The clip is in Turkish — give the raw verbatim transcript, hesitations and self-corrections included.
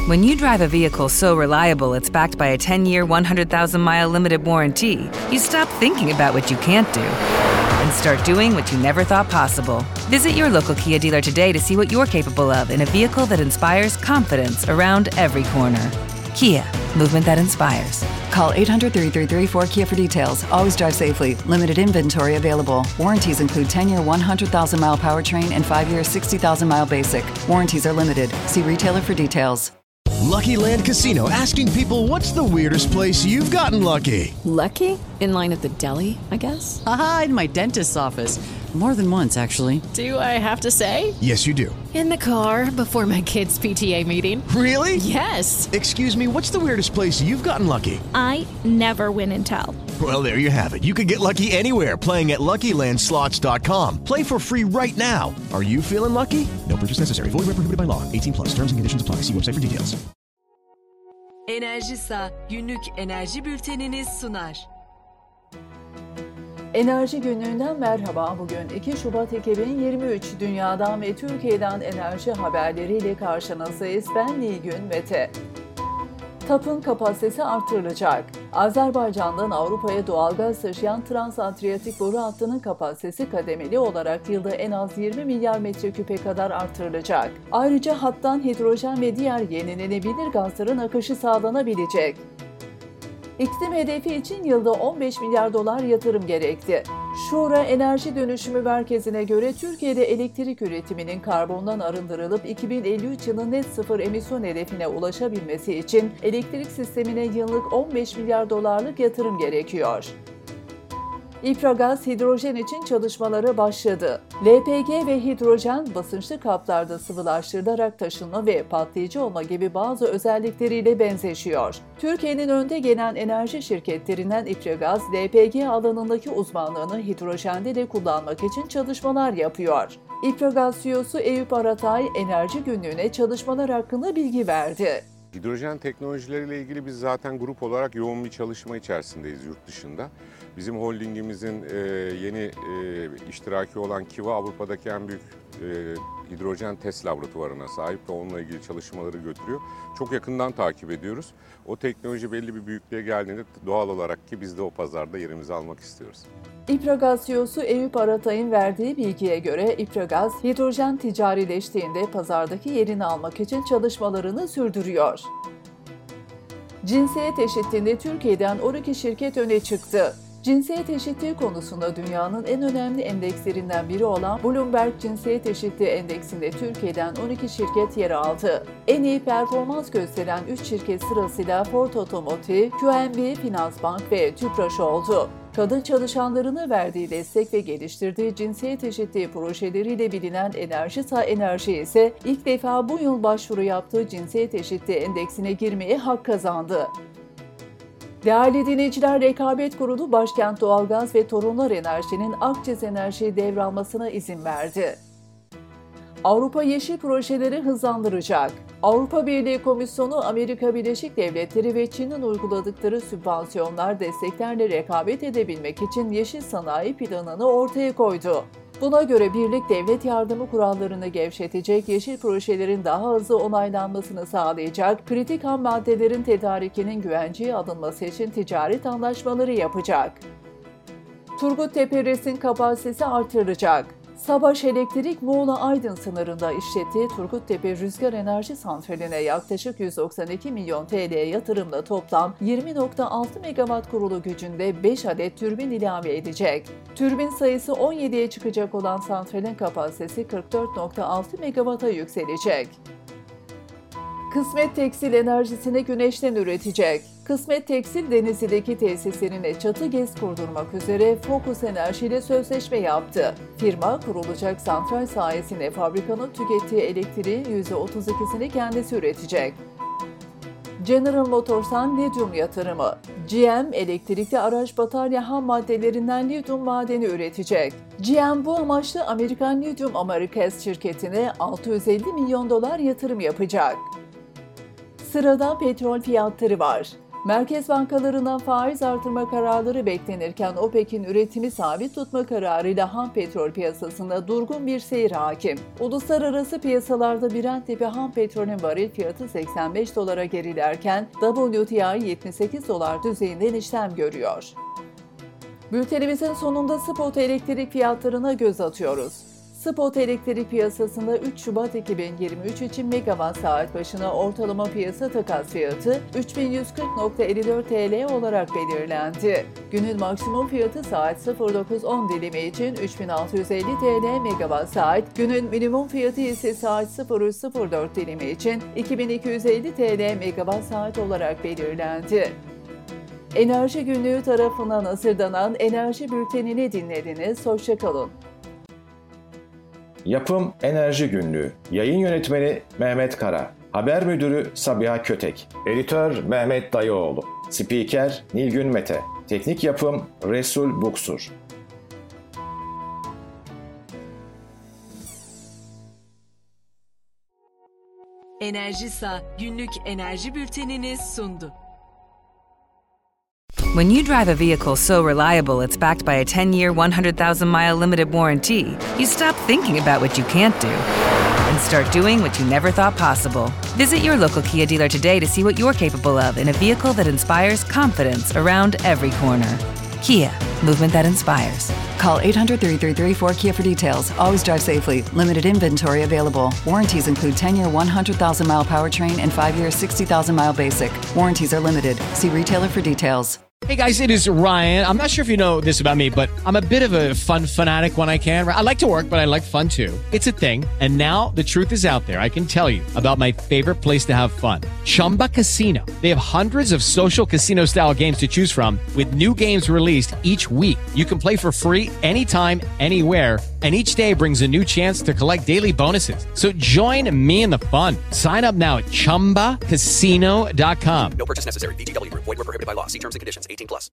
When you drive a vehicle so reliable it's backed by a ten-year, one hundred thousand mile limited warranty, you stop thinking about what you can't do and start doing what you never thought possible. Visit your local Kia dealer today to see what you're capable of in a vehicle that inspires confidence around every corner. Kia, movement that inspires. Call eight hundred, three three three, four K I A for details. Always drive safely. Limited inventory available. Warranties include ten-year, one hundred thousand mile powertrain and five-year, sixty thousand mile basic. Warranties are limited. See retailer for details. Lucky Land Casino, asking people, what's the weirdest place you've gotten lucky? Lucky? In line at the deli, I guess? Aha, in my dentist's office. More than once, actually. Do I have to say? Yes, you do. In the car before my kids' P T A meeting. Really? Yes. Excuse me, what's the weirdest place you've gotten lucky? I never win and tell. Well, there you have it. You can get lucky anywhere, playing at Lucky Land Slots dot com. Play for free right now. Are you feeling lucky? No purchase necessary. Void where prohibited by law. eighteen plus. Terms and conditions apply. See website for details. Enerjisa günlük enerji bültenini sunar. Enerji Günlüğü'nden merhaba. Bugün iki Şubat iki bin yirmi üç. Dünyadan ve Türkiye'den enerji haberleriyle karşınızdayız. Ben Nilgün Mete. TAP'ın kapasitesi artırılacak. Azerbaycan'dan Avrupa'ya doğalgaz taşıyan Trans-Adriyatik boru hattının kapasitesi kademeli olarak yılda en az yirmi milyar metreküpe kadar artırılacak. Ayrıca hattan hidrojen ve diğer yenilenebilir gazların akışı sağlanabilecek. İklim hedefi için yılda on beş milyar dolar yatırım gerekti. Şura Enerji Dönüşümü Merkezi'ne göre Türkiye'de elektrik üretiminin karbondan arındırılıp iki bin elli üç yılı net sıfır emisyon hedefine ulaşabilmesi için elektrik sistemine yıllık on beş milyar dolarlık yatırım gerekiyor. İpragaz hidrojen için çalışmalara başladı. L P G ve hidrojen basınçlı kaplarda sıvılaştırılarak taşınma ve patlayıcı olma gibi bazı özellikleriyle benzeşiyor. Türkiye'nin önde gelen enerji şirketlerinden İpragaz, L P G alanındaki uzmanlığını hidrojende de kullanmak için çalışmalar yapıyor. İpragaz C E O'su Eyüp Aratay, Enerji Günlüğü'ne çalışmalar hakkında bilgi verdi. Hidrojen teknolojileriyle ilgili biz zaten grup olarak yoğun bir çalışma içerisindeyiz yurt dışında. Bizim holdingimizin e, yeni e, iştiraki olan Kiva Avrupa'daki en büyük e, hidrojen test laboratuvarına sahip ve onunla ilgili çalışmaları götürüyor. Çok yakından takip ediyoruz. O teknoloji belli bir büyüklüğe geldiğinde doğal olarak ki biz de o pazarda yerimizi almak istiyoruz. İpragaz C E O'su Eyüp Aratay'ın verdiği bilgiye göre İpragaz, hidrojen ticarileştiğinde pazardaki yerini almak için çalışmalarını sürdürüyor. Cinsiyet eşitliğinde Türkiye'den on iki şirket öne çıktı. Cinsiyet eşitliği konusunda dünyanın en önemli endekslerinden biri olan Bloomberg Cinsiyet Eşitliği Endeksinde Türkiye'den on iki şirket yer aldı. En iyi performans gösteren üç şirket sırasıyla Ford Otomotiv, Q N B Finansbank ve Tüpraş oldu. Kadın çalışanlarına verdiği destek ve geliştirdiği cinsiyet eşitliği projeleriyle bilinen Enerjisa Enerji ise ilk defa bu yıl başvuru yaptığı cinsiyet eşitliği endeksine girmeye hak kazandı. Değerli dinleyiciler, Rekabet Kurulu Başkent Doğalgaz ve Torunlar Enerji'nin Akçes Enerji'yi devralmasına izin verdi. Avrupa yeşil projeleri hızlandıracak. Avrupa Birliği Komisyonu, Amerika Birleşik Devletleri ve Çin'in uyguladıkları sübvansiyonlar, desteklerle rekabet edebilmek için yeşil sanayi planını ortaya koydu. Buna göre birlik devlet yardımı kurallarını gevşetecek, yeşil projelerin daha hızlı onaylanmasını sağlayacak, kritik ham maddelerin tedarikinin güvenceye alınması için ticaret anlaşmaları yapacak. Turguttepe RES'in kapasitesi artırılacak. Sabaş Elektrik, Muğla-Aydın sınırında işlettiği Turguttepe Rüzgar Enerji Santrali'ne yaklaşık yüz doksan iki milyon T L yatırımla toplam yirmi nokta altı megawatt kurulu gücünde beş adet türbin ilave edecek. Türbin sayısı on yediye çıkacak olan santralin kapasitesi kırk dört nokta altı megawatt'a yükselecek. Kısmet Tekstil enerjisini güneşten üretecek. Kısmet Tekstil, Denizli'deki tesislerine çatı GES kurdurmak üzere Focus Enerji ile sözleşme yaptı. Firma, kurulacak santral sayesinde fabrikanın tükettiği elektriğin yüzde otuz ikisini kendisi üretecek. General Motors'tan lityum yatırımı. G M, elektrikli araç batarya ham maddelerinden lityum madeni üretecek. G M bu amaçla Amerikan Lithium Americas şirketine altı yüz elli milyon dolar yatırım yapacak. Sırada petrol fiyatları var. Merkez bankalarından faiz artırma kararları beklenirken OPEC'in üretimi sabit tutma kararıyla ham petrol piyasasında durgun bir seyir hakim. Uluslararası piyasalarda Brent tipi ham petrolün varil fiyatı seksen beş dolara gerilerken W T I yetmiş sekiz dolar düzeyinden işlem görüyor. Bültenimizin sonunda spot elektrik fiyatlarına göz atıyoruz. Spot elektrik piyasasında üç Şubat iki bin yirmi üç için megawatt saat başına ortalama piyasa takas fiyatı üç bin yüz kırk nokta elli dört T L olarak belirlendi. Günün maksimum fiyatı saat sıfır dokuz on dilimi için üç bin altı yüz elli T L megawatt saat, günün minimum fiyatı ise saat sıfır üç sıfır dört dilimi için iki bin iki yüz elli T L megawatt saat olarak belirlendi. Enerji Günlüğü tarafından hazırlanan Enerji Bülteni'ni dinlediniz. Hoşça kalın. Yapım Enerji Günlüğü. Yayın Yönetmeni Mehmet Kara. Haber Müdürü Sabiha Kötek. Editör Mehmet Dayıoğlu. Spiker Nilgün Mete. Teknik Yapım Resul Buksur. Enerjisa günlük enerji bültenini sundu. When you drive a vehicle so reliable it's backed by a ten-year, one hundred thousand mile limited warranty, you stop thinking about what you can't do and start doing what you never thought possible. Visit your local Kia dealer today to see what you're capable of in a vehicle that inspires confidence around every corner. Kia, movement that inspires. Call eight hundred, three three three, four K I A for details. Always drive safely. Limited inventory available. Warranties include ten-year, one hundred thousand mile powertrain and five-year, sixty thousand mile basic. Warranties are limited. See retailer for details. Hey guys, it is Ryan. I'm not sure if you know this about me, but I'm a bit of a fun fanatic when I can. I like to work, but I like fun too. It's a thing. And now the truth is out there. I can tell you about my favorite place to have fun. Chumba Casino. They have hundreds of social casino style games to choose from with new games released each week. You can play for free anytime, anywhere. And each day brings a new chance to collect daily bonuses. So join me in the fun. Sign up now at chumba casino dot com. No purchase necessary. V G W Group. Void where prohibited by law. See terms and conditions. eighteen plus.